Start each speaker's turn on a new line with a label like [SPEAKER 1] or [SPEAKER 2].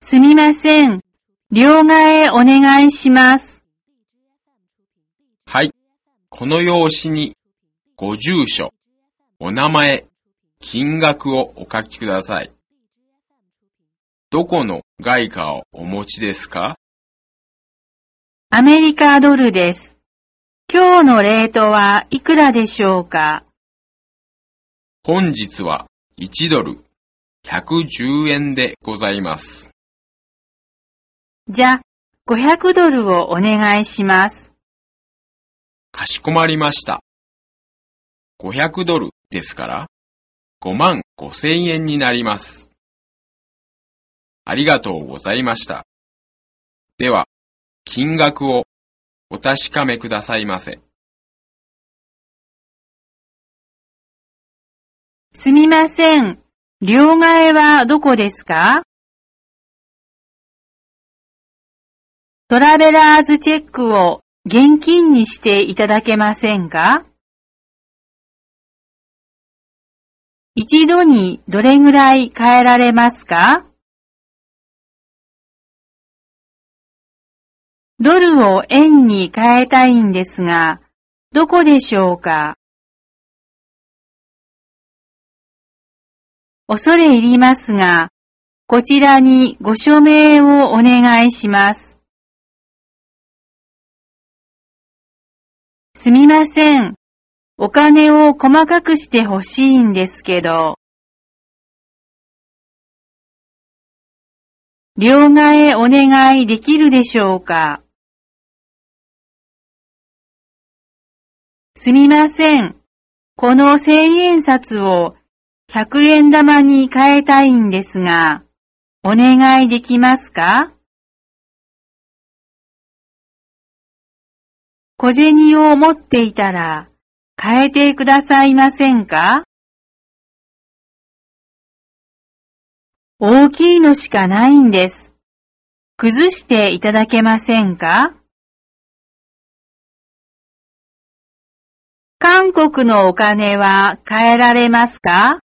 [SPEAKER 1] すみません。両替お願いします。
[SPEAKER 2] はい。この用紙にご住所、お名前、金額をお書きください。どこの外貨をお持ちですか？
[SPEAKER 1] アメリカドルです。今日のレートはいくらでしょうか？
[SPEAKER 2] 本日は1ドル110円でございます。
[SPEAKER 1] じゃ、500ドルをお願いします。
[SPEAKER 2] かしこまりました。500ドルですから55,000円になります。ありがとうございました。では、金額をお確かめくださいませ。
[SPEAKER 1] すみません。両替はどこですか？トラベラーズチェックを現金にしていただけませんか？一度にどれぐらい変えられますか？ドルを円に変えたいんですが、どこでしょうか？恐れ入りますが、こちらにご署名をお願いします。すみません。お金を細かくしてほしいんですけど。両替お願いできるでしょうか？すみません。この1000円札を100円玉に変えたいんですが、お願いできますか？小銭を持っていたら変えてくださいませんか？大きいのしかないんです。崩していただけませんか？韓国のお金は変えられますか？